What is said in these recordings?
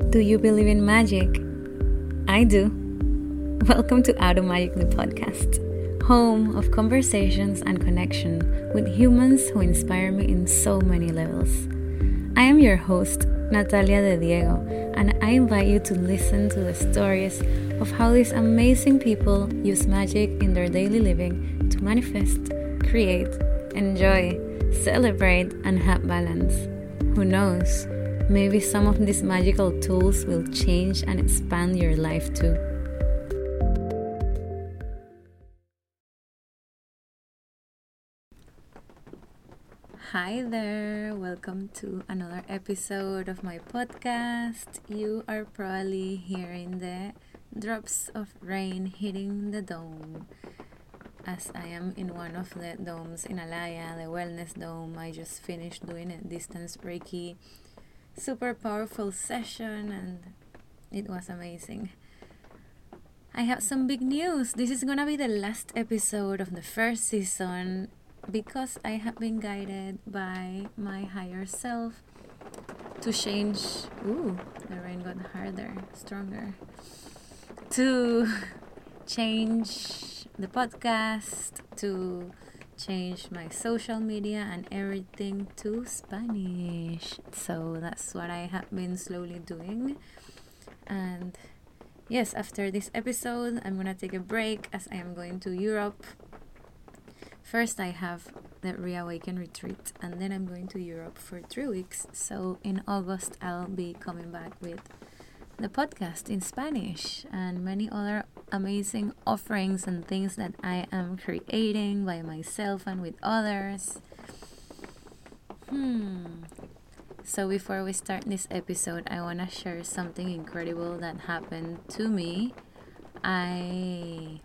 Do you believe in magic? I do. Welcome to Auto Magic, the podcast, home of conversations and connection with humans who inspire me in so many levels. I am your host, Natalia De Diego, and I invite you to listen to the stories of how these amazing people use magic in their daily living to manifest, create, enjoy, celebrate, and have balance. Who knows? Maybe some of these magical tools will change and expand your life too. Hi there, welcome to another episode of my podcast. You are probably hearing the drops of rain hitting the dome. As I am in one of the domes in Alaya, the Wellness Dome. I just finished doing a distance Reiki super powerful session and it was amazing. I have some big news. This is gonna be the last episode of the first season because I have been guided by my higher self to change. The rain got harder, stronger. To change the podcast, to change my social media and everything to Spanish. So that's what I have been slowly doing. And yes, after this episode, I'm gonna take a break as I am going to Europe. First, I have the Reawaken retreat, and then I'm going to Europe for 3 weeks. So in August, I'll be coming back with the podcast in Spanish and many other amazing offerings and things that I am creating by myself and with others. So before we start this episode, I want to share something incredible that happened to me. I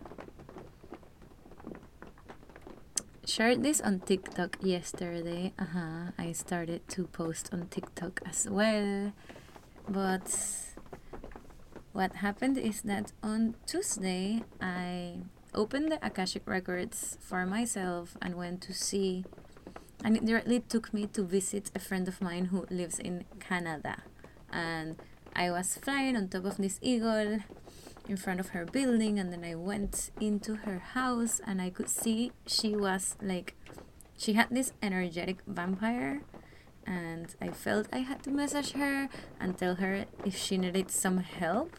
shared this on TikTok yesterday. I started to post on TikTok as well. But what happened is that on Tuesday, I opened the Akashic Records for myself and went to see, and it directly took me to visit a friend of mine who lives in Canada. And I was flying on top of this eagle in front of her building, and then I went into her house and I could see she had this energetic vampire. And I felt I had to message her and tell her if she needed some help.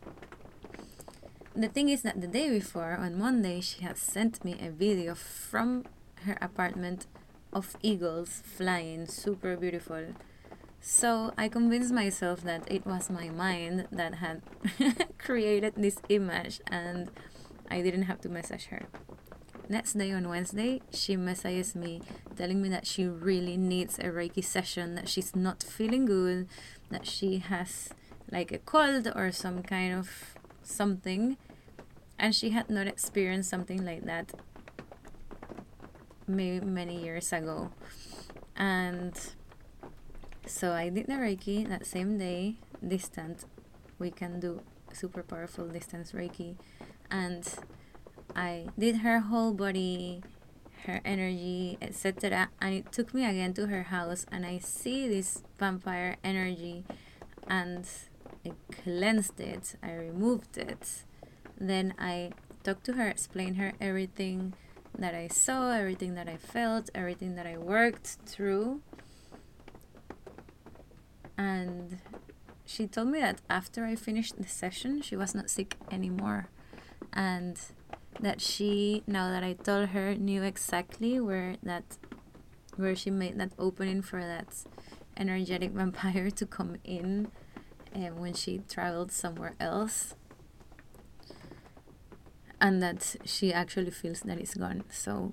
The thing is that the day before, on Monday, she had sent me a video from her apartment of eagles flying, super beautiful. So I convinced myself that it was my mind that had created this image and I didn't have to message her. Next day, on Wednesday, she messages me telling me that she really needs a Reiki session, that she's not feeling good, that she has like a cold or some kind of something, and she had not experienced something like that many years ago. And so I did the Reiki that same day, distant. We can do super powerful distance Reiki, and I did her whole body, her energy, etc. And it took me again to her house and I see this vampire energy and I cleansed it, I removed it. Then I talked to her, explained her everything that I saw, everything that I felt, everything that I worked through. And she told me that after I finished the session, she was not sick anymore. And that she, now that I told her, knew exactly where she made that opening for that energetic vampire to come in when she traveled somewhere else, and that she actually feels that it's gone. So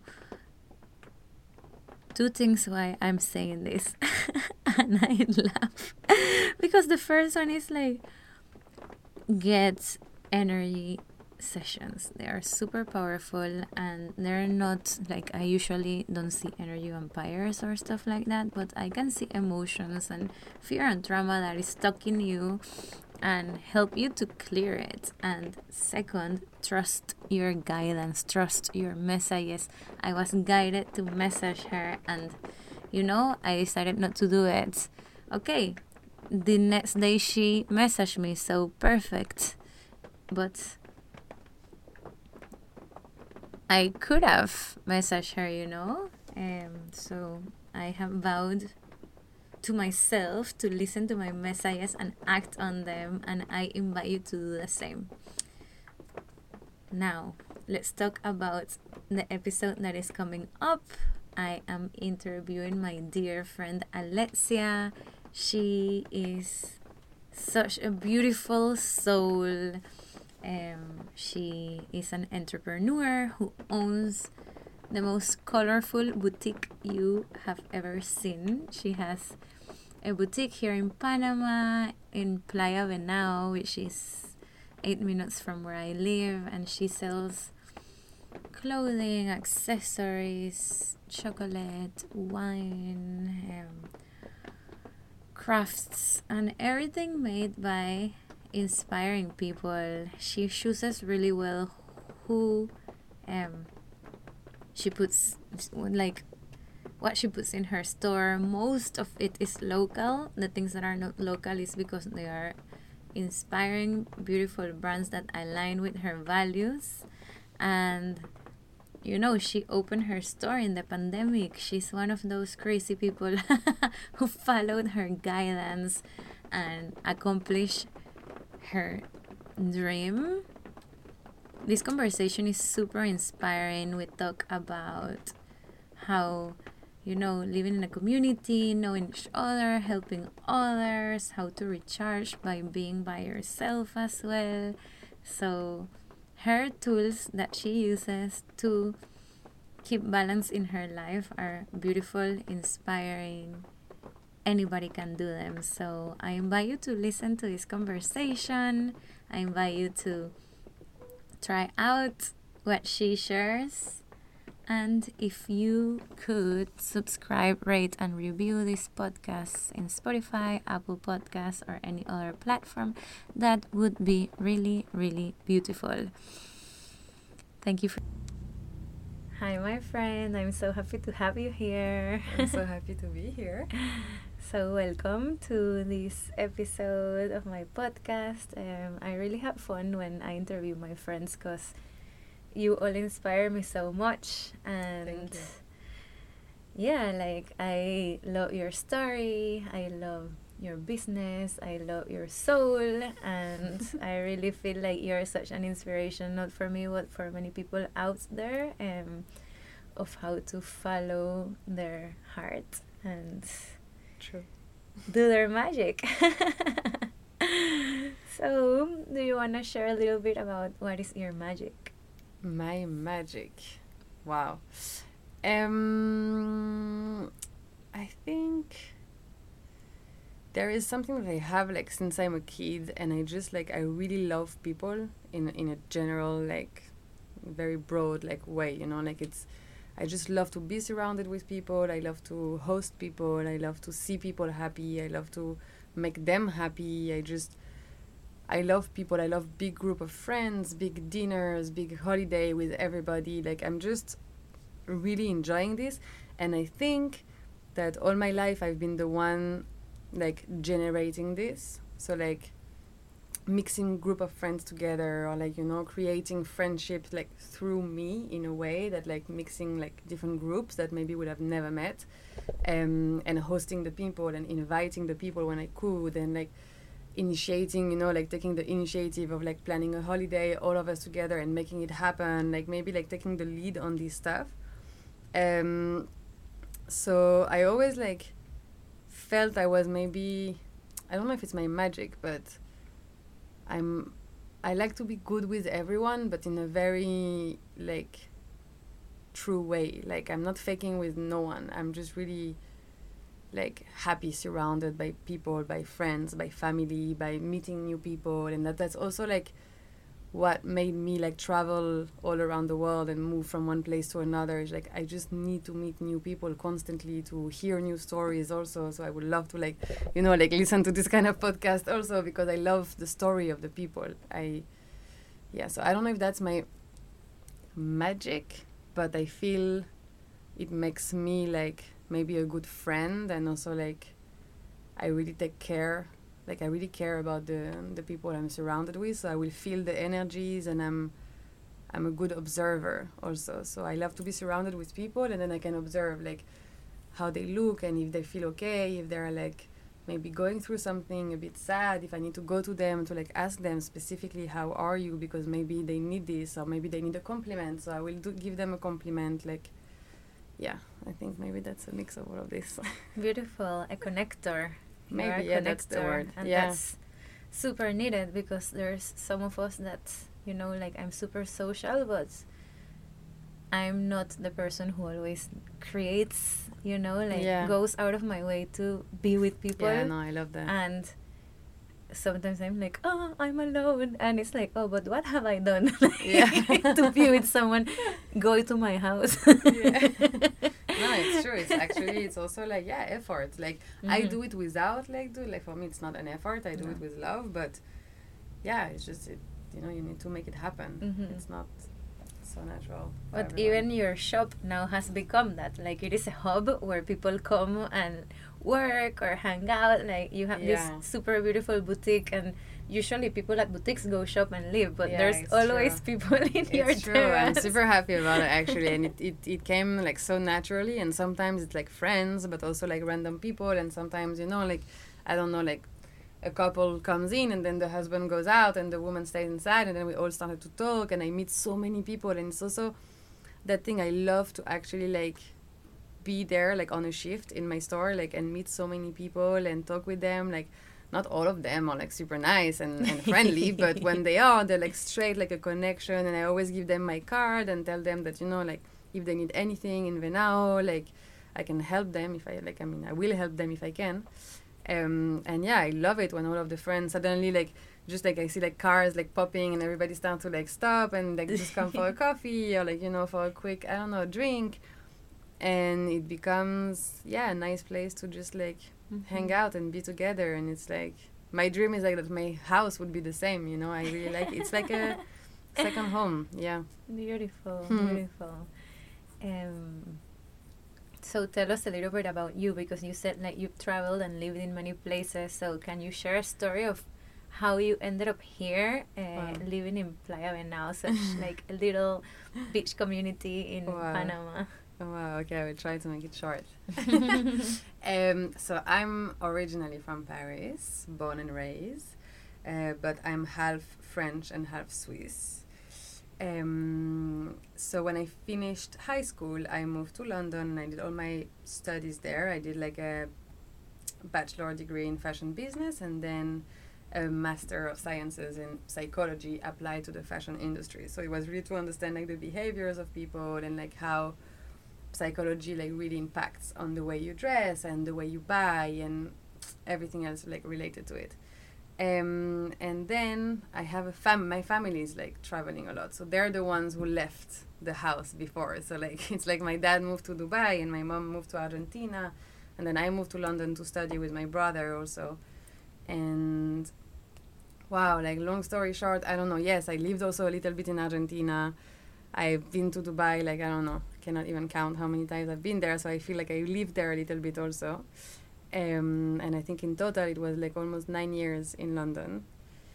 2 things why I'm saying this and I laugh because the first one is like, get energy sessions. They are super powerful and they're not like, I usually don't see energy vampires or stuff like that, but I can see emotions and fear and trauma that is stuck in you and help you to clear it. And second, trust your guidance, trust your messages. I was guided to message her and I decided not to do it. Okay, the next day she messaged me, so perfect. But I could have messaged her, so I have vowed to myself to listen to my messages and act on them, and I invite you to do the same. Now, let's talk about the episode that is coming up. I am interviewing my dear friend Alexia. She is such a beautiful soul. She is an entrepreneur who owns the most colorful boutique you have ever seen. She has a boutique here in Panama, in Playa Venao, which is 8 minutes from where I live, and she sells clothing, accessories, chocolate, wine, crafts, and everything made by inspiring people. She chooses really well who she puts, like, what she puts in her store. Most of it is local. The things that are not local is because they are inspiring, beautiful brands that align with her values. And she opened her store in the pandemic. She's one of those crazy people who followed her guidance and accomplished her dream. This conversation is super inspiring. We talk about how, living in a community, knowing each other, helping others, how to recharge by being by yourself as well. So her tools that she uses to keep balance in her life are beautiful, inspiring. Anybody can do them. So I invite you to listen to this conversation. I invite you to try out what she shares. And if you could subscribe, rate, and review this podcast in Spotify, Apple Podcasts, or any other platform, that would be really, really beautiful. Thank you. Hi, my friend. I'm so happy to have you here. I'm so happy to be here. So welcome to this episode of my podcast. I really have fun when I interview my friends because you all inspire me so much. And thank you. Yeah, I love your story. I love your business. I love your soul. And I really feel like you're such an inspiration, not for me, but for many people out there, of how to follow their heart and True. do their magic. So, do you want to share a little bit about what is your magic? My magic. Wow. I think there is something that I have since I'm a kid, and I just I really love people in a general very broad way, it's I just love to be surrounded with people. I love to host people. I love to see people happy. I love to make them happy. I love people. I love big group of friends, big dinners, big holiday with everybody. I'm just really enjoying this. And I think that all my life I've been the one generating this. So mixing group of friends together, or creating friendships through me in a way that mixing different groups that maybe would have never met, and hosting the people and inviting the people when I could, and initiating, taking the initiative of planning a holiday, all of us together and making it happen, maybe taking the lead on this stuff. So I always felt I was maybe, I don't know if it's my magic, but I like to be good with everyone, but in a very true way. I'm not faking with no one. I'm just really happy, surrounded by people, by friends, by family, by meeting new people, and that's also what made me travel all around the world and move from one place to another. Is I just need to meet new people constantly, to hear new stories also. So I would love to listen to this kind of podcast also, because I love the story of the people. So I don't know if that's my magic, but I feel it makes me maybe a good friend, and also I really take care like I really care about the people I'm surrounded with, so I will feel the energies, and I'm a good observer also. So I love to be surrounded with people, and then I can observe like how they look and if they feel okay, if they're like maybe going through something a bit sad, if I need to go to them to like ask them specifically how are you, because maybe they need this or maybe they need a compliment, so I will give them a compliment. Like, yeah, I think maybe that's a mix of all of this. Beautiful, a connector. You're Maybe, a yeah, that's the connector, word. and Yeah. that's super needed, because there's some of us that, you know, like I'm super social, but I'm not the person who always creates, you know, like Yeah. goes out of my way to be with people. Yeah, no, I love that. And sometimes I'm like, oh, I'm alone. And it's like, oh, but what have I done Yeah. to be with someone? Go to my house. Yeah. No, it's true. It's actually, it's also like, yeah, effort. Like, I do it without, like, for me, it's not an effort. I do it with love. But, yeah, it's just, you know, you need to make it happen. It's not so natural. But even your shop now has become that. Like, it is a hub where people come and work or hang out. Like, you have this super beautiful boutique, and usually people at boutiques go shop and leave, but there's always people in your It's true. terrace. I'm super happy about it, actually. And it came like so naturally, and sometimes it's like friends, but also like random people, and sometimes, you know, like, I don't know, like a couple comes in and then the husband goes out and the woman stays inside, and then we all started to talk, and I meet so many people. And it's also that thing I love to actually like be there like on a shift in my store, like, and meet so many people and talk with them. Like, not all of them are like super nice and friendly, but when they are, they're like straight like a connection. And I always give them my card and tell them that, you know, like if they need anything in Venao, like I can help them if I like, I mean, I will help them if I can. And yeah, I love it when all of the friends suddenly like just like I see like cars like popping and everybody start to like stop and like just come for a coffee or like, you know, for a quick, I don't know, drink. And it becomes, yeah, a nice place to just like hang out and be together. And it's like, my dream is like that my house would be the same, you know. I really like it. It's like a second home. Yeah. Beautiful, beautiful. So tell us a little bit about you, because you said like you've traveled and lived in many places. So can you share a story of how you ended up here, living in Playa Venao, such like a little beach community in Panama? Oh, wow, okay, I will try to make it short. So I'm originally from Paris, born and raised, but I'm half French and half Swiss. So when I finished high school, I moved to London and I did all my studies there. I did like a bachelor degree in fashion business and then a master of sciences in psychology applied to the fashion industry. So it was really to understand like the behaviors of people and like how psychology like really impacts on the way you dress and the way you buy and everything else like related to it. And then I have my family is like traveling a lot, so they're the ones who left the house before. So like it's like my dad moved to Dubai and my mom moved to Argentina, and then I moved to London to study with my brother also. And wow, like long story short, I don't know. Yes, I lived also a little bit in Argentina. I've been to Dubai, like I don't know, cannot even count how many times I've been there. So I feel like I lived there a little bit also. And I think in total it was like almost 9 years in London.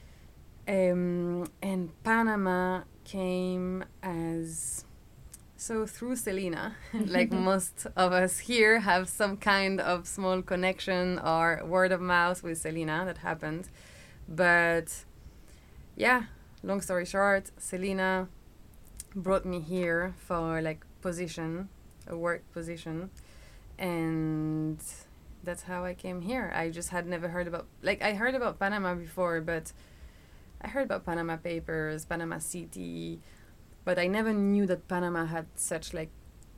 And Panama came as, so through Selena, like most of us here have some kind of small connection or word of mouth with Selena that happened. But yeah, long story short, Selena brought me here for like a work position. And that's how I came here. I just had never heard about, like I heard about Panama before, but I heard about Panama Papers, Panama City, but I never knew that Panama had such like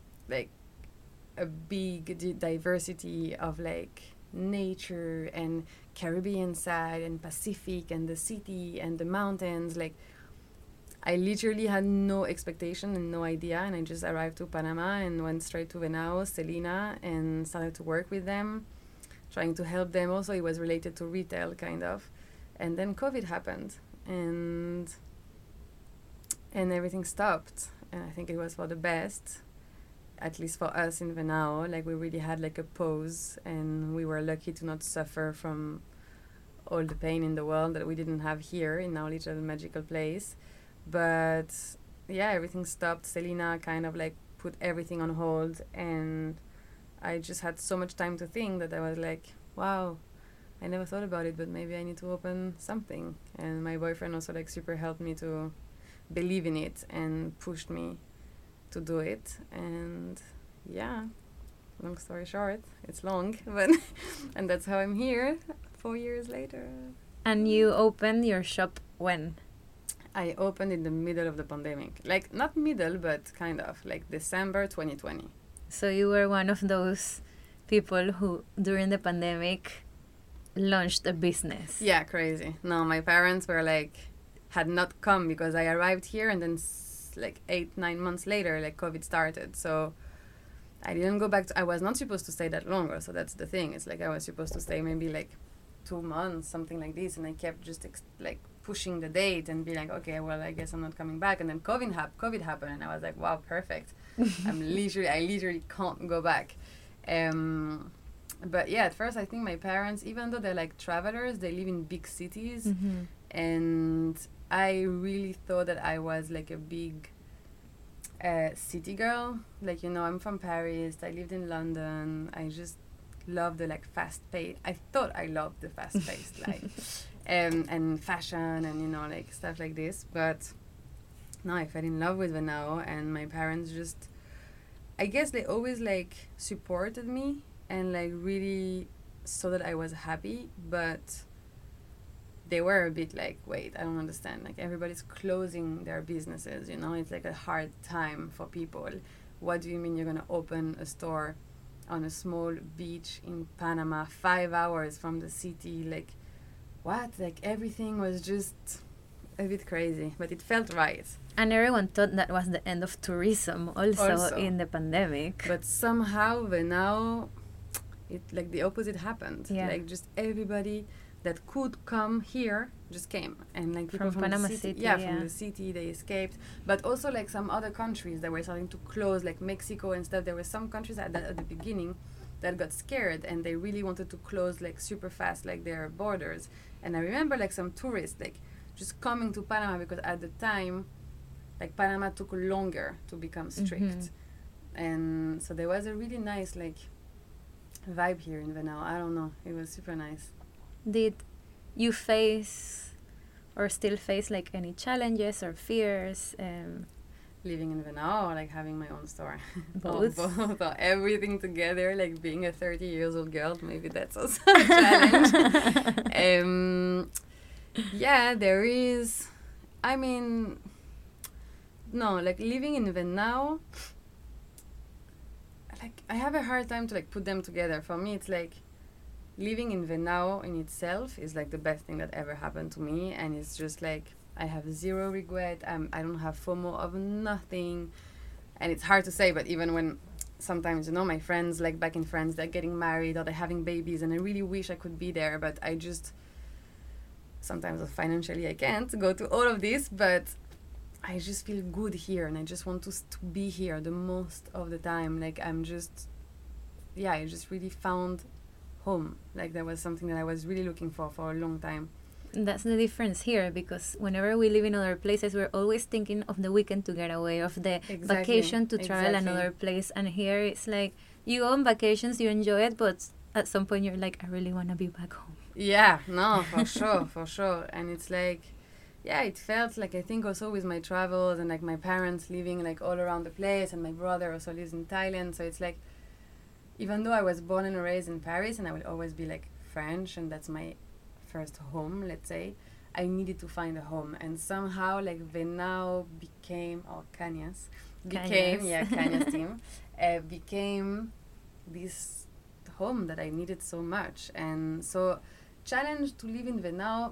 a big diversity of like nature and Caribbean side and Pacific and the city and the mountains. Like I literally had no expectation and no idea, and I just arrived to Panama and went straight to Venao, Selena, and started to work with them, trying to help them. Also, it was related to retail, kind of. And then COVID happened, and everything stopped. And I think it was for the best, at least for us in Venao. Like, we really had, like, a pause, and we were lucky to not suffer from all the pain in the world that we didn't have here in our little magical place. But yeah, everything stopped. Selena kind of like put everything on hold, and I just had so much time to think that I was like, wow, I never thought about it, but maybe I need to open something. And my boyfriend also like super helped me to believe in it and pushed me to do it. And yeah, long story short, it's long, but and that's how I'm here 4 years later. And you opened your shop when? I opened in the middle of the pandemic. Like, not middle, but kind of. Like, December 2020. So you were one of those people who, during the pandemic, launched a business. Yeah, crazy. No, my parents were like, had not come because I arrived here and then like 8-9 months later, like COVID started. So I didn't go back to, I was not supposed to stay that longer. So that's the thing. It's like I was supposed to stay maybe like 2 months, something like this. And I kept just like pushing the date and be like, okay, well, I guess I'm not coming back. And then COVID happened. And I was like, wow, perfect. I literally can't go back. But yeah, at first I think my parents, even though they're like travelers, they live in big cities. Mm-hmm. And I really thought that I was like a big city girl. Like, you know, I'm from Paris. I lived in London. I just love the like fast pace. I thought I loved the fast paced life and fashion and, you know, like stuff like this. But no, I fell in love with Venao, and my parents just, I guess they always like supported me and like really saw that I was happy, but they were a bit like, wait, I don't understand. Like, everybody's closing their businesses, you know? It's like a hard time for people. What do you mean you're going to open a store on a small beach in Panama, 5 hours from the city? Like, what? Like, everything was just a bit crazy, but it felt right. And everyone thought that was the end of tourism also. In the pandemic. But somehow, now, it like the opposite happened. Yeah. Like, just everybody that could come here just came, and like people from Panama the city, City, from the city, they escaped. But also like some other countries that were starting to close, like Mexico and stuff. There were some countries at the beginning that got scared and they really wanted to close like super fast, like their borders. And I remember like some tourists like just coming to Panama because at the time, like Panama took longer to become strict. Mm-hmm. And so there was a really nice like vibe here in Venao. I don't know, it was super nice. Did you face or still face like any challenges or fears? Living in Venao or like having my own store? Both. Both. Or everything together, like being a 30 years old girl, maybe that's also a challenge. Yeah, there is. I mean, no, like living in Venao, like I have a hard time to like put them together. For me, it's like living in Venao in itself is like the best thing that ever happened to me, and it's just like I have zero regret. I don't have FOMO of nothing, and it's hard to say, but even when sometimes, you know, my friends, like back in France, they're getting married or they're having babies, and I really wish I could be there, but I just sometimes financially I can't go to all of this, but I just feel good here, and I just want to be here the most of the time. Like I'm just, yeah, I just really found home. Like that was something that I was really looking for a long time. That's the difference here, because whenever we live in other places, we're always thinking of the weekend to get away, of the vacation to travel another place. And here it's like you go on vacations, you enjoy it, but at some point you're like, I really want to be back home. Yeah, no, for sure, for sure. And it's like, yeah, it felt like, I think also with my travels and like my parents living like all around the place, and my brother also lives in Thailand, so it's like, even though I was born and raised in Paris and I will always be like French and that's my first home, let's say, I needed to find a home. And somehow like Venao became, or Cañas became, yeah, Cañas team, became this home that I needed so much. And so challenge to live in Venao,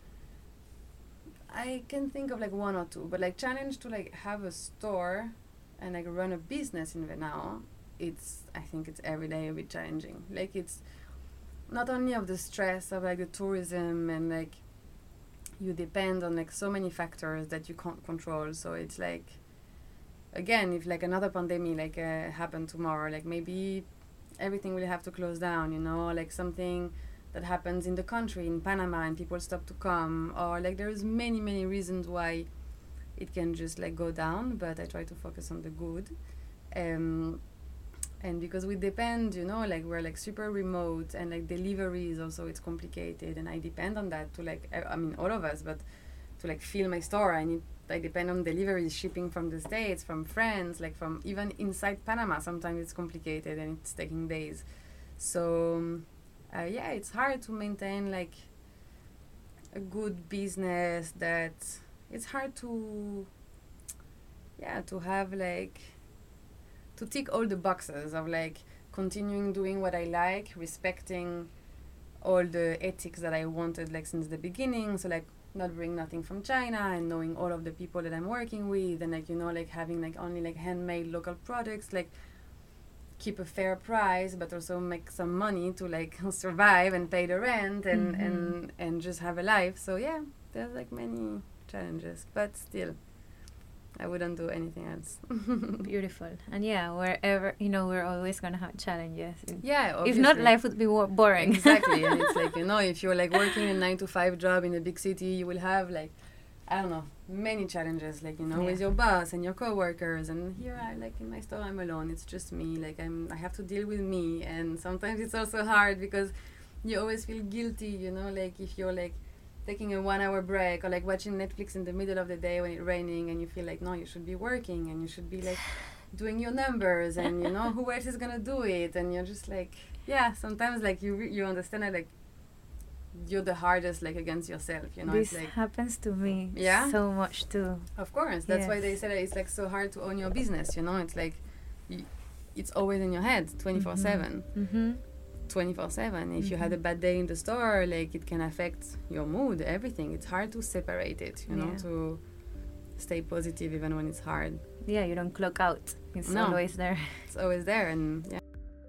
I can think of like one or two, but like challenge to like have a store and like run a business in Venao, I think it's every day a bit challenging. Like it's not only of the stress of like the tourism, and like you depend on like so many factors that you can't control. So it's like, again, if like another pandemic like happened tomorrow, like maybe everything will have to close down, you know, like something that happens in the country, in Panama, and people stop to come, or like there's many reasons why it can just like go down, but I try to focus on the good. And because we depend, like we're like super remote, and like deliveries also, it's complicated, and I depend on that to like, I mean all of us, but to like fill my store, I depend on deliveries, shipping from the States, from friends, like from even inside Panama. Sometimes it's complicated and it's taking days. So yeah, it's hard to maintain like a good business. That it's hard to have like to tick all the boxes of like continuing doing what I like, respecting all the ethics that I wanted like since the beginning. So like not bring nothing from China, and knowing all of the people that I'm working with, and like like having like only like handmade local products, like keep a fair price but also make some money to like survive and pay the rent and just have a life. So yeah, there's like many challenges, but still I wouldn't do anything else. Beautiful. And yeah, wherever, we're always going to have challenges. Yeah, obviously. If not, life would be boring. Exactly. And it's like, if you're like working a 9-to-5 job in a big city, you will have like, I don't know, many challenges, like, with your boss and your coworkers. And here I like in my store, I'm alone. It's just me. Like I have to deal with me. And sometimes it's also hard because you always feel guilty, like if you're like taking a 1-hour break or like watching Netflix in the middle of the day when it's raining, and you feel like, no, you should be working and you should be like doing your numbers, and who else is gonna do it? And you're just like, yeah, sometimes like you understand that like you're the hardest like against yourself, This it's like happens to me so much too. Of course, that's why they say that it's like so hard to own your business, it's like it's always in your head 24/7. 24/7. If you had a bad day in the store, like it can affect your mood, everything. It's hard to separate it, to stay positive even when it's hard. Yeah, you don't clock out. It's always there. It's always there, and yeah.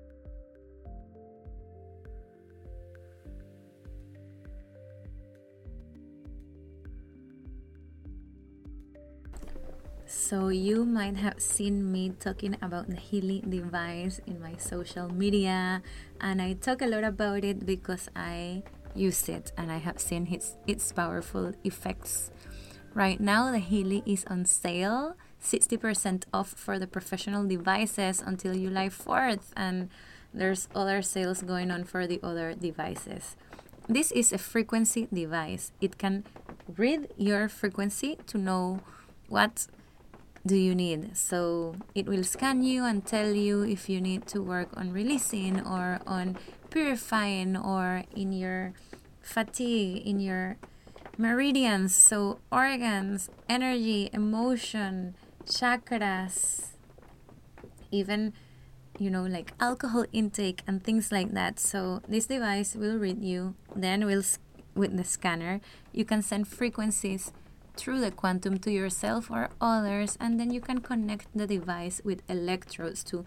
So you might have seen me talking about the Healy device in my social media, and I talk a lot about it because I use it and I have seen its powerful effects. Right now the Healy is on sale, 60% off for the professional devices until July 4th, and there's other sales going on for the other devices. This is a frequency device. It can read your frequency to know what do you need. So it will scan you and tell you if you need to work on releasing or on purifying, or in your fatigue, in your meridians, so organs, energy, emotion, chakras, even like alcohol intake and things like that. So this device will read you, then with the scanner you can send frequencies through the quantum to yourself or others, and then you can connect the device with electrodes to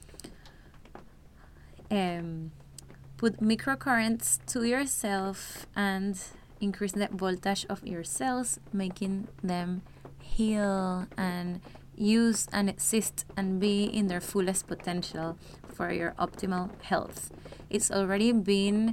put microcurrents to yourself and increase the voltage of your cells, making them heal and use and exist and be in their fullest potential for your optimal health. It's already been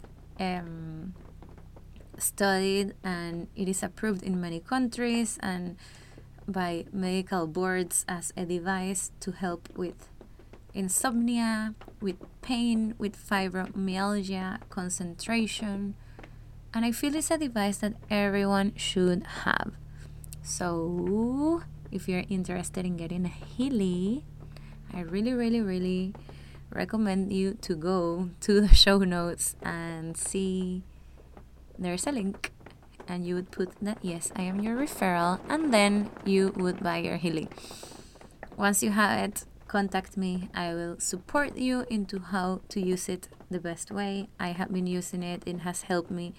studied, and it is approved in many countries and by medical boards as a device to help with insomnia, with pain, with fibromyalgia, concentration, and I feel it's a device that everyone should have. So if you're interested in getting a Healy, I really recommend you to go to the show notes and see there's a link, and you would put that yes, I am your referral, and then you would buy your Healy. Once you have it, contact me. I will support you into how to use it the best way. I have been using it. It has helped me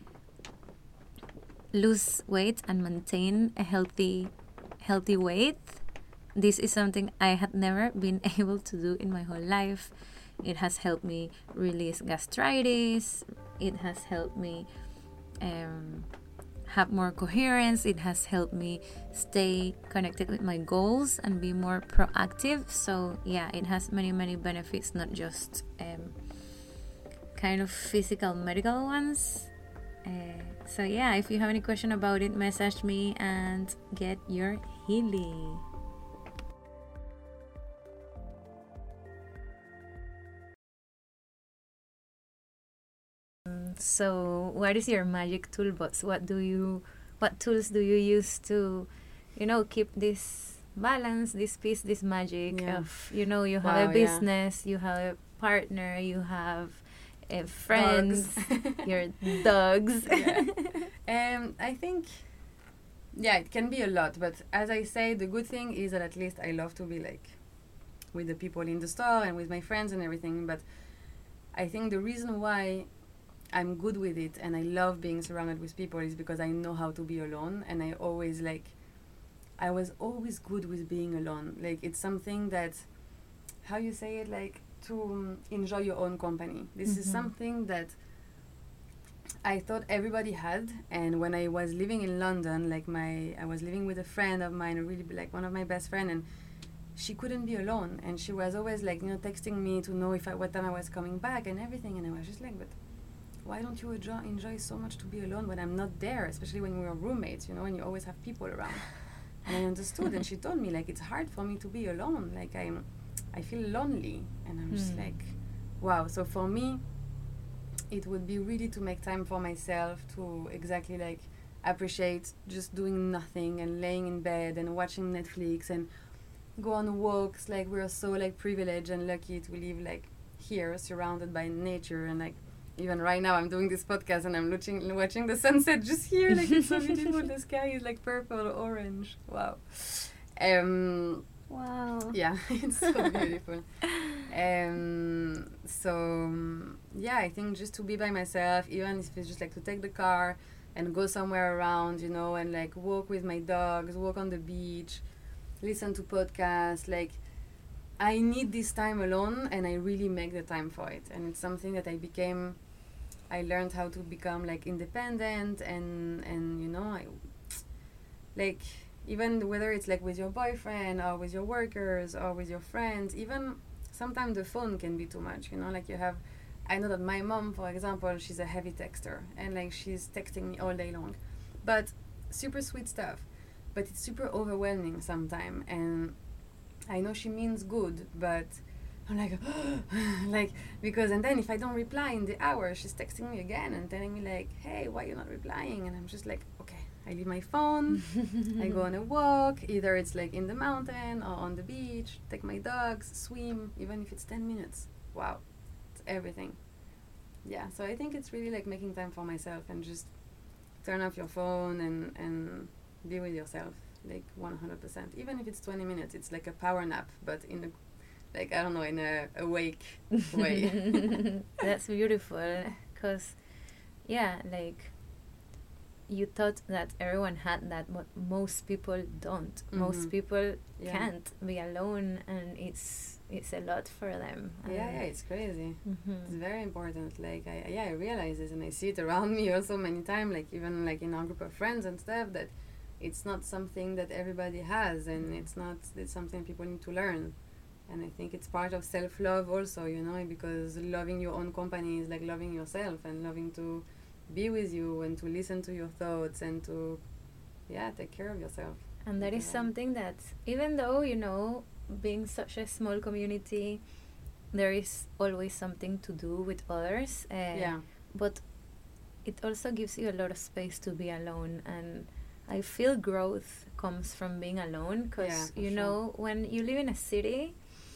lose weight and maintain a healthy weight. This is something I had never been able to do in my whole life. It has helped me release gastritis. It has helped me have more coherence. It has helped me stay connected with my goals and be more proactive. So yeah, it has many benefits, not just kind of physical medical ones. So yeah, if you have any question about it, message me and get your healing. So what is your magic toolbox? What tools do you use to, keep this balance, this peace, this magic of, you have a business, you have a partner, you have friends, your dogs. I think, it can be a lot, but as I say, the good thing is that at least I love to be like with the people in the store and with my friends and everything. But I think the reason why I'm good with it and I love being surrounded with people is because I know how to be alone, and I was always good with being alone. Like, it's something that, how you say it, like, to enjoy your own company. This is something that I thought everybody had. And when I was living in London, I was living with a friend of mine, really like one of my best friends, and she couldn't be alone, and she was always like, texting me to know what time I was coming back and everything. And I was just like, but why don't you enjoy so much to be alone when I'm not there, especially when we were roommates, when you always have people around. And I understood, and she told me, like, it's hard for me to be alone, like I feel lonely. And I'm just like, wow. So for me, it would be really to make time for myself, to exactly like appreciate just doing nothing and laying in bed and watching Netflix and go on walks. Like, we're so like privileged and lucky to live like here, surrounded by nature. And like, even right now I'm doing this podcast and I'm watching the sunset just here. Like, it's so beautiful. The sky is like purple, orange. Wow. Wow. Yeah, it's so beautiful. I think just to be by myself, even if it's just like to take the car and go somewhere around, and like walk with my dogs, walk on the beach, listen to podcasts. Like, I need this time alone, and I really make the time for it. And it's something that I learned how to become like independent, and I like, even whether it's like with your boyfriend or with your workers or with your friends, even sometimes the phone can be too much, like I know that my mom, for example, she's a heavy texter, and like she's texting me all day long, but super sweet stuff, but it's super overwhelming sometimes. And I know she means good, but I'm like, like, because, and then if I don't reply in the hour, she's texting me again and telling me like, hey, why you're not replying? And I'm just like, okay, I leave my phone, I go on a walk, either it's like in the mountain or on the beach, take my dogs, swim, even if it's 10 minutes. Wow, it's everything. Yeah, so I think it's really like making time for myself and just turn off your phone and be with yourself, like 100%. Even if it's 20 minutes, it's like a power nap, but in a, like, I don't know, in a awake way. That's beautiful, because, yeah, like, you thought that everyone had that, but most people don't. Most people can't be alone, and it's a lot for them. Yeah, it's crazy. It's very important. Like, I realize this, and I see it around me also many times, like even like in our group of friends and stuff, that it's not something that everybody has, and it's something people need to learn. And I think it's part of self-love also, because loving your own company is like loving yourself and loving to be with you and to listen to your thoughts and to, take care of yourself. And that is something that, even though, being such a small community, there is always something to do with others. But it also gives you a lot of space to be alone. And I feel growth comes from being alone, because, when you live in a city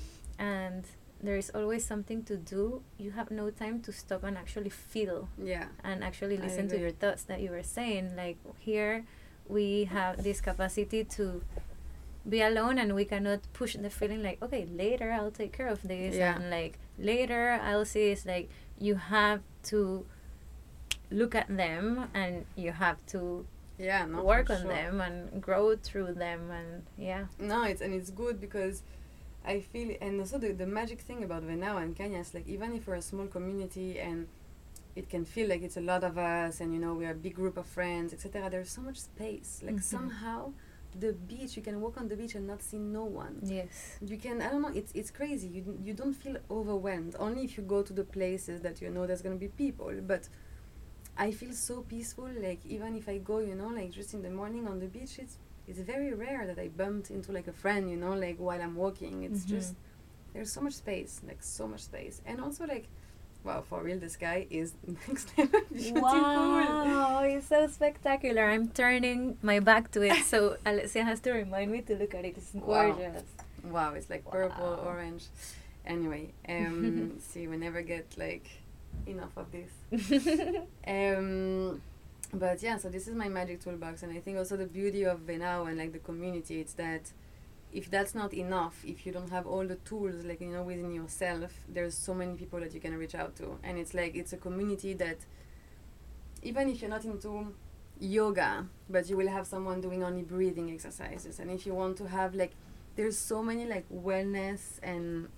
and there is always something to do, you have no time to stop and actually feel and actually listen to your thoughts that you were saying. Like, here we have this capacity to be alone, and we cannot push the feeling like, okay, later I'll take care of this, and like later I'll see. It's like you have to look at them, and you have to work on them and grow through them. And it's good, because I feel, and also the magic thing about Venao and Kenya is like, even if we're a small community and it can feel like it's a lot of us, and we are a big group of friends, etc., there's so much space. Like, somehow the beach, you can walk on the beach and not see no one. Yes. You can, I don't know, it's crazy. You don't feel overwhelmed. Only if you go to the places that you know there's gonna be people. But I feel so peaceful. Like even if I go, you know, like just in the morning on the beach, it's very rare that I bumped into like a friend, you know, like while I'm walking. It's just there's so much space, like so much space, and also like, wow, for real, the sky is next level beautiful. Wow, it's so spectacular. I'm turning my back to it, so Alessia has to remind me to look at it. It's gorgeous. Wow, it's like purple, orange. Anyway, see, we never get like enough of this. But yeah, so this is my magic toolbox, and I think also the beauty of Venao and like the community, it's that if that's not enough, if you don't have all the tools like, you know, within yourself, there's so many people that you can reach out to, and it's like it's a community that even if you're not into yoga, but you will have someone doing only breathing exercises, and if you want to have like, there's so many like wellness and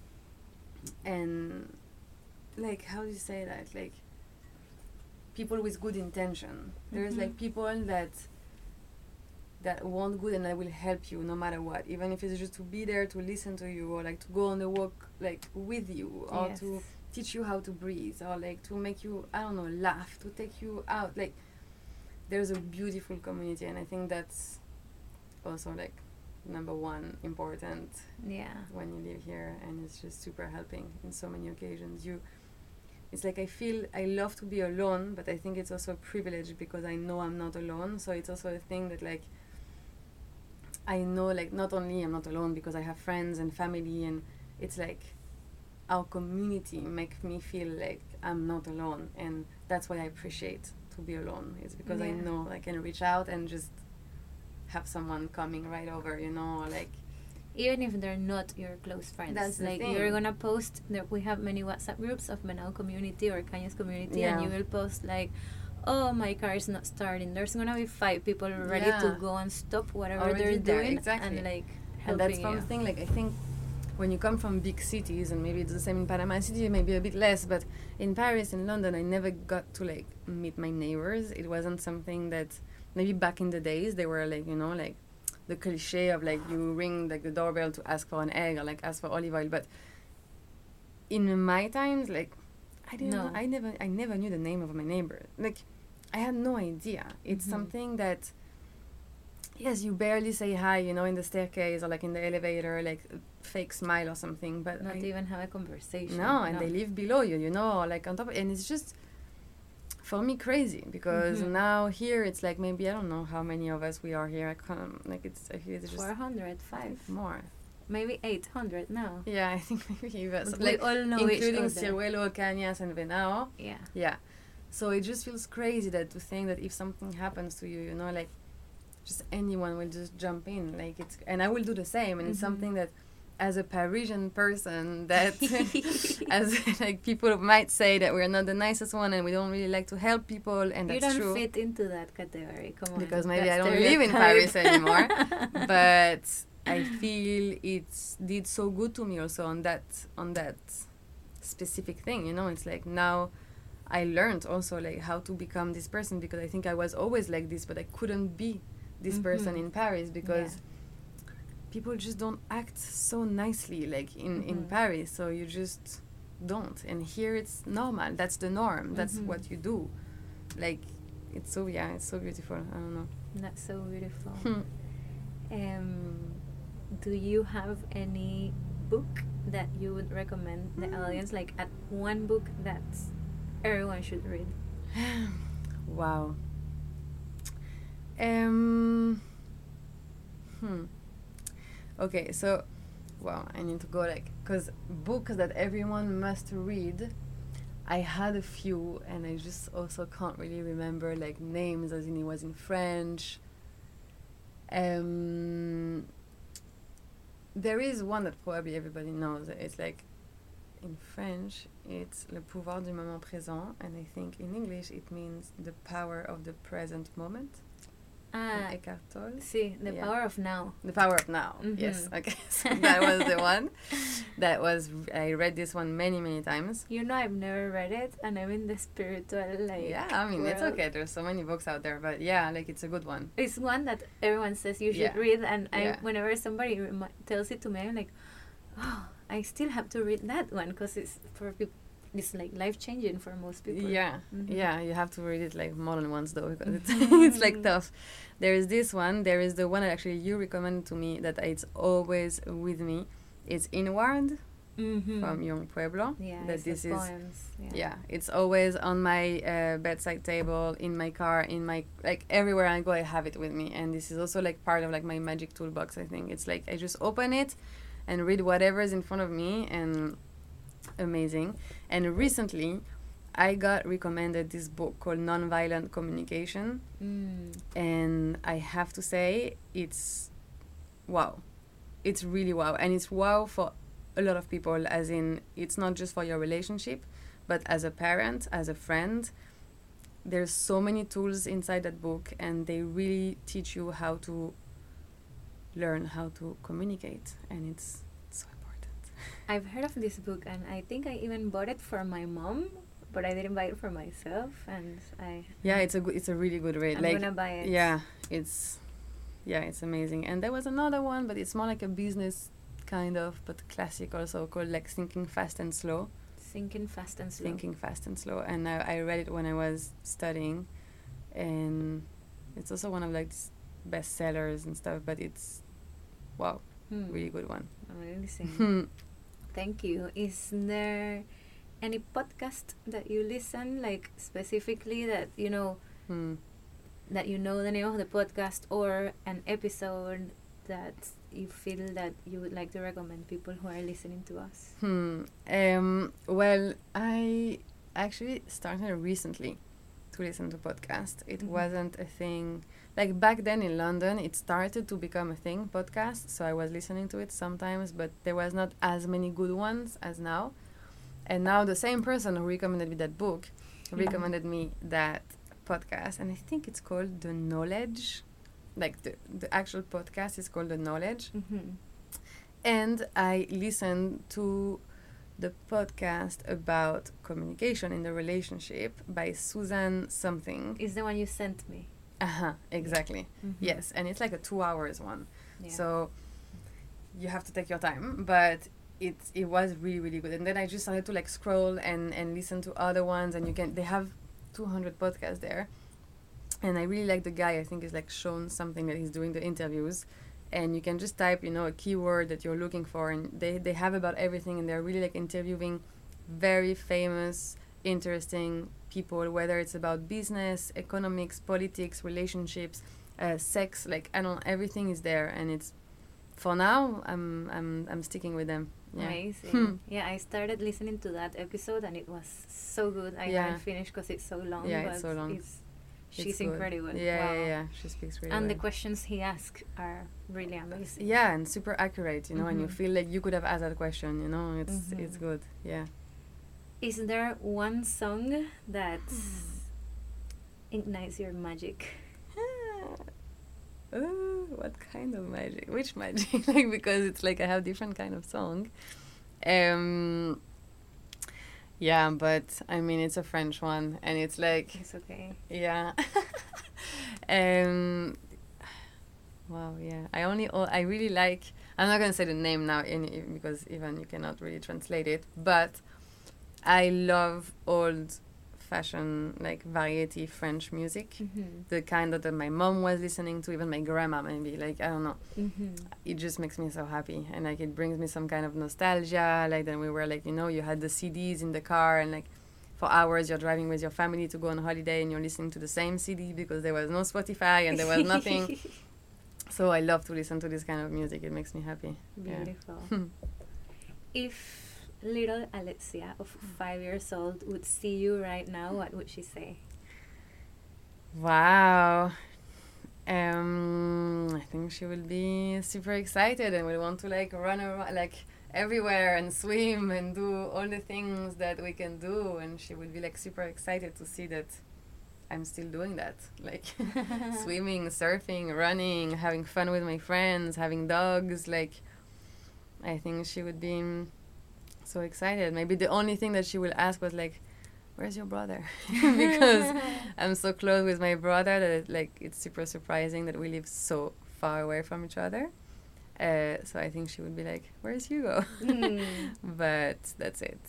like, how do you say that, like people with good intention. There's like people that want good and that will help you no matter what, even if it's just to be there to listen to you, or like to go on the walk like with you, or to teach you how to breathe, or like to make you, I don't know, laugh, to take you out. Like there's a beautiful community, and I think that's also like number one important when you live here, and it's just super helping in so many occasions. It's like I feel I love to be alone, but I think it's also a privilege because I know I'm not alone. So it's also a thing that like I know like not only I'm not alone because I have friends and family, and it's like our community makes me feel like I'm not alone, and that's why I appreciate to be alone. It's because I know I can reach out and just have someone coming right over, you know, like even if they're not your close friends. That's the like thing. You're gonna post that we have many WhatsApp groups of Menao community or Cañas community, and you will post like, oh, my car is not starting. There's gonna be 5 people ready to go and stop whatever already they're doing, exactly. and like helping and that's something like I think when you come from big cities, and maybe it's the same in Panama City, maybe a bit less, but in Paris and London I never got to like meet my neighbors. It wasn't something that maybe back in the days they were like, you know, like the cliche of like you ring like the doorbell to ask for an egg or like ask for olive oil. But in my times, like I didn't know, I never knew the name of my neighbor. Like I had no idea. It's something that, yes, you barely say hi, you know, in the staircase or like in the elevator, like a fake smile or something, but not even have a conversation. No, and they live below you, you know, or like on top, and it's just for me crazy because now here it's like maybe I don't know how many of us we are here. I can't, like I feel it's just 405 more. Maybe 800 now. Yeah, I think maybe even like all know including Ciruelo, Cañas, and Venao. Yeah. So it just feels crazy that to think that if something happens to you, you know, like just anyone will just jump in, like it's, and I will do the same, and it's something that as a Parisian person that as like people might say that we're not the nicest one and we don't really like to help people, and that's true. You don't fit into that category, come on. Because maybe I don't live in Paris anymore. But I feel it did so good to me also on that specific thing, you know. It's like now I learned also like how to become this person, because I think I was always like this, but I couldn't be this person in Paris because people just don't act so nicely like in Paris, so you just don't. And here it's normal, that's the norm, that's what you do. Like it's so beautiful. I don't know. That's so beautiful. Do you have any book that you would recommend the audience, like at one book that everyone should read? Wow. Okay, so, wow, I need to go like, because books that everyone must read, I had a few, and I just also can't really remember like names, as in it was in French. There is one that probably everybody knows. It's like, in French, it's Le pouvoir du moment présent, and I think in English it means the power of the present moment. Eckhart Tolle. See, The Yeah. Power of Now. The Power of Now. Mhm. Yes. Okay. So that was the one. I read this one many times. You know, I've never read it, and I'm in the spiritual, like, Yeah, I mean, it's world. okay. There's so many books out there, but yeah, like it's a good one. It's one that everyone says you should Yeah. read, and Yeah. whenever somebody tells it to me, I'm like, oh, I still have to read that one because it's for people. It's like life changing for most people. Yeah, Mhm. yeah, you have to read it like more than once though, because it's, Mhm. it's like tough. There is this one, there is the one that actually you recommended to me that it's always with me. It's Inward Mhm. from Young Pueblo. Yeah, That it's this the is, poems. yeah, it's always on my bedside table, in my car, in my, like everywhere I go I have it with me. And this is also like part of like my magic toolbox, I think. It's like I just open it and read whatever is in front of me, and amazing. And recently I got recommended this book called Nonviolent Communication, Mm. and I have to say it's wow. It's really wow, and it's wow for a lot of people, as in it's not just for your relationship, but as a parent, as a friend. There's so many tools inside that book, and they really teach you how to learn how to communicate, and it's so important. I've heard of this book, and I think I even bought it for my mom, but I didn't buy it for myself, and Yeah, it's a really good read. I'm like gonna buy it. yeah, it's amazing. And there was another one, but it's more like a business kind of, but classic also, called like Thinking Fast and Slow. Thinking Fast and Slow. Thinking Fast and Slow. And I read it when I was studying, and it's also one of like bestsellers and stuff, but it's wow, really good one. I'm really listening. Thank you. Is there any podcast that you listen, like specifically that you know that you know the name of the podcast, or an episode that you feel that you would like to recommend people who are listening to us? Well, I actually started recently to listen to podcast. It wasn't a thing like back then in London. It started to become a thing, podcast, so I was listening to it sometimes, but there was not as many good ones as now. And now the same person who recommended me that book recommended me that podcast, and I think it's called The Knowledge. Like the actual podcast is called The Knowledge. And I listened to the podcast about communication in the relationship by Susan something. Is the one you sent me? Exactly. Yes, and it's like a 2 hours one. Yeah. So you have to take your time, but it was really good. And then I just started to like scroll and listen to other ones, and they have 200 podcasts there. And I really like the guy. I think he's like shown something that he's doing the interviews, and you can just type, a keyword that you're looking for, and they have about everything, and they're really like interviewing very famous, interesting people, whether it's about business, economics, politics, relationships, sex, like everything is there, and it's, for now, I'm sticking with them. Yeah. Amazing. Yeah, I started listening to that episode, and it was so good. I haven't finished because it's so long. Yeah, but it's so long. She's incredible. Yeah, wow. yeah, she speaks really and well. the questions he asks are really amazing. Yeah, and super accurate, and you feel like you could have asked that question, it's good. Yeah. Is there one song that ignites your magic? What kind of magic? Which magic? Because it's like I have different kind of song. Yeah, but I mean it's a French one, and it's like It's okay. yeah. Wow, yeah. I really like. I'm not gonna say the name now, because even you cannot really translate it. But I love old-fashioned like variety French music, the kind that my mom was listening to, even my grandma maybe. Like I don't know. It just makes me so happy, and like it brings me some kind of nostalgia. Like then we were like you had the CDs in the car, and like for hours you're driving with your family to go on holiday, and you're listening to the same CD because there was no Spotify and there was nothing. So I love to listen to this kind of music. It makes me happy. Beautiful. If little Alexia of 5 years old would see you right now, what would she say? Wow. I think she will be super excited and will want to like run around like everywhere and swim and do all the things that we can do, and she will be like super excited to see that I'm still doing that, like swimming, surfing, running, having fun with my friends, having dogs. Like, I think she would be so excited. Maybe the only thing that she will ask was like, where's your brother? Because I'm so close with my brother that it's super surprising that we live so far away from each other. So I think she would be like, where's Hugo? But that's it.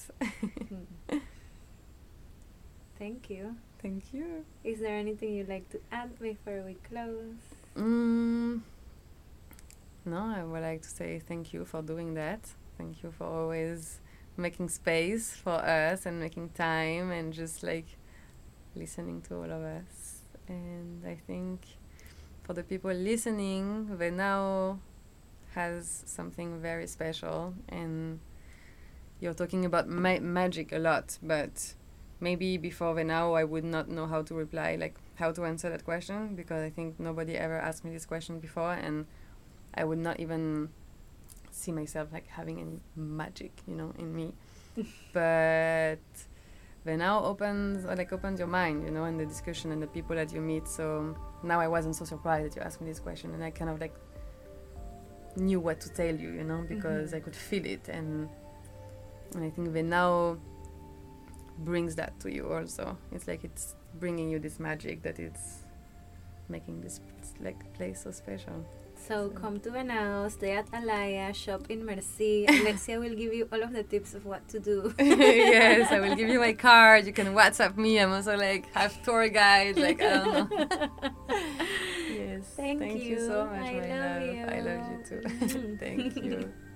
Thank you. Thank you. Is there anything you'd like to add before we close? No, I would like to say thank you for doing that. Thank you for always making space for us and making time and just like listening to all of us. And I think for the people listening, Venao has something very special, and you're talking about magic a lot, but maybe before Venao I would not know how to reply, like how to answer that question, because I think nobody ever asked me this question before, and I would not even see myself like having any magic, in me. But Venao opens your mind, and the discussion and the people that you meet. So now I wasn't so surprised that you asked me this question, and I kind of like knew what to tell you, because I could feel it, and I think Venao brings that to you also. It's like it's bringing you this magic that it's making this place so special. So come to Venao, stay at Alaya, shop in Merci. Alexia will give you all of the tips of what to do. Yes, I will give you my card. You can WhatsApp me. I'm also half tour guide. I don't know. Yes. Thank you so much, I my love love. you. I love you too. Thank you.